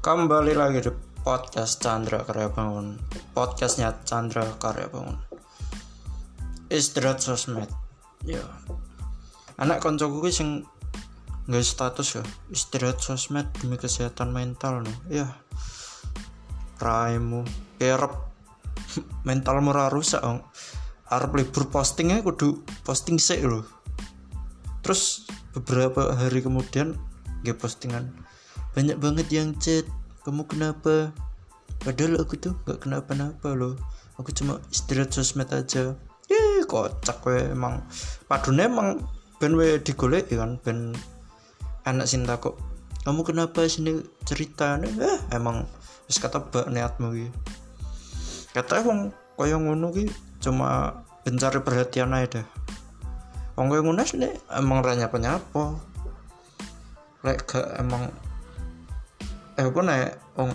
Kembali lagi di podcast Chandra Karya Bangun. Podcastnya Chandra Karya Bangun. Istirahat sosmed. Ya. Anak koncoku ki sing nggawe status ya. Istirahat sosmed demi kesehatan mental no. Ya. Raimu kerep mentalmu ora rusak. Arep libur postingnya kudu posting sik lho. Terus beberapa hari kemudian nge postingan, banyak banget yang chat, kamu kenapa? Padahal aku tuh gak kenapa-napa loh, aku cuma istirahat sosmed aja. Kocak we emang. Padune emang ben we digolek kan, ben anak sing takok, kamu kenapa sini cerita? Emang wis ketebak niatmu iki. Kata wong kaya ngono ki cuma pencari perhatian aja dah. Wong kaya ngono sih emang ra nyapa-nyapa. Lek gak emang aku nek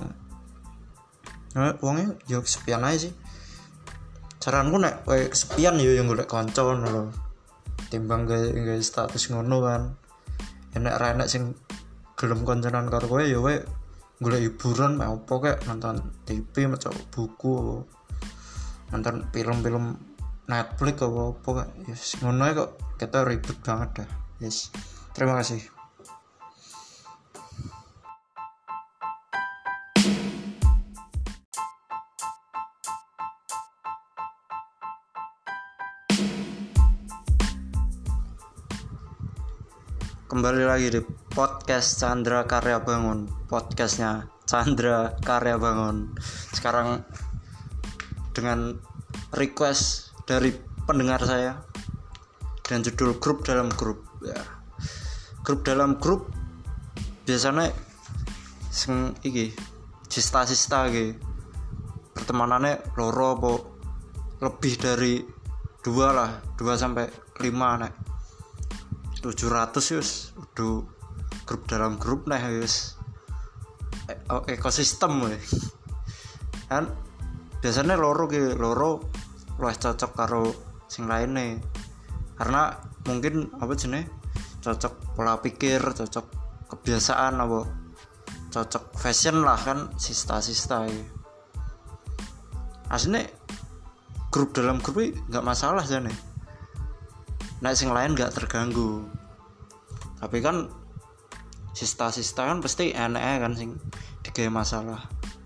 wongnya yo kesepian aja sih. Saranku nek kowe kesepian yo yang golek kanca ngono lho. Timbang gawe status ngono kan. Enek ra enek sing gelem konconan karo kowe yo kowe golek hiburan mek opo kek, nonton TV, maca buku, nonton film-film Netflix apa kek. Yes, ngono kok kita ribet banget dah. Yes. Terima kasih. Kembali lagi di podcast Chandra Karya Bangun. Podcastnya Chandra Karya Bangun. Sekarang dengan request dari pendengar saya dan judul grup dalam grup ya. Grup dalam grup biasanya sing iki sista-sista iki pertemanannya loro apa lebih dari 2 sampai 5 nek 700 yus udah grup dalam grup nih yus ekosistem we. Kan biasanya loro luwih cocok karo sing lain nih, karena mungkin apa jenenge cocok pola pikir, cocok kebiasaan apa cocok fashion lah kan sista-sista ya. Asline grup dalam grup nggak masalah jane. Nek sing lain gak terganggu. Tapi kan sista-sista kan pasti enek kan sing digawe masalah.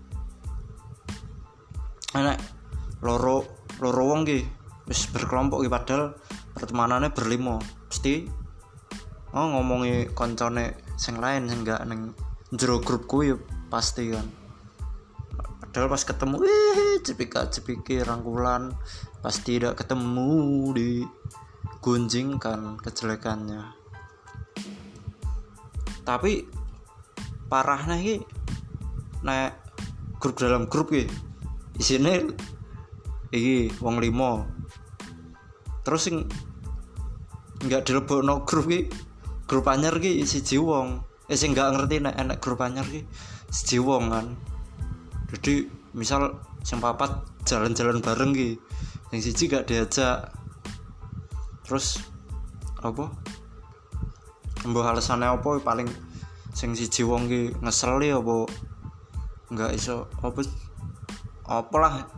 Enek loro wong ki wis berkelompok ki padahal pertemanannya berlima. Pasti ngomongi koncone sing lain sing gak ning jero grupku ya pasti kan. Padahal pas ketemu cepika-cepiki rangkulan, pasti tidak ketemu di gunjingkan kejelekannya. Tapi parahnya iki nek grup dalam grup iki isine iki wong 5. Terus sing enggak dilebokno grup iki, grup anyar iki siji wong. Sing enggak ngerti nek enek grup anyar iki siji wong kan. Jadi misal sing papat jalan-jalan bareng iki, sing siji gak diajak. Terus apa? Mbah alasane apa paling sing siji wong ki ngeseli apa enggak iso apalah.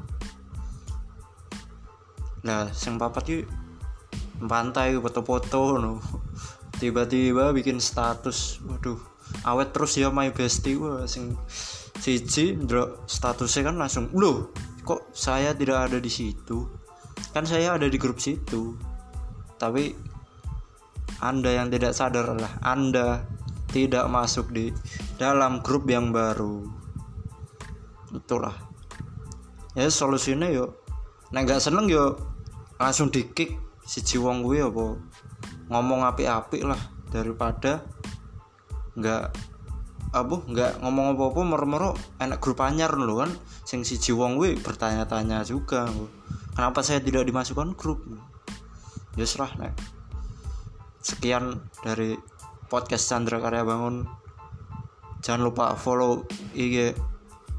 Nah, sing papat ki pantai foto-foto no. Tiba-tiba bikin status. Waduh, awet terus ya my bestie. Wah, sing siji ndelok statusnya kan langsung, "Loh, kok saya tidak ada di situ? Kan saya ada di grup situ." Tapi Anda yang tidak sadar adalah Anda tidak masuk di dalam grup yang baru. Itulah. Ya solusinya yo nek gak seneng yo langsung di-kick siji wong kuwi apa ngomong apik-apik lah, daripada enggak ngomong apa-apa moro-moro enak grup anyar lho kan. Sing siji wong kuwi bertanya-tanya juga, kenapa saya tidak dimasukkan grup? Ya serah nek. Sekian dari podcast Chandra Karya Bangun. Jangan lupa follow IG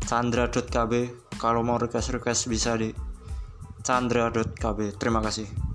chandra.kb. Kalau mau request bisa di chandra.kb. Terima kasih.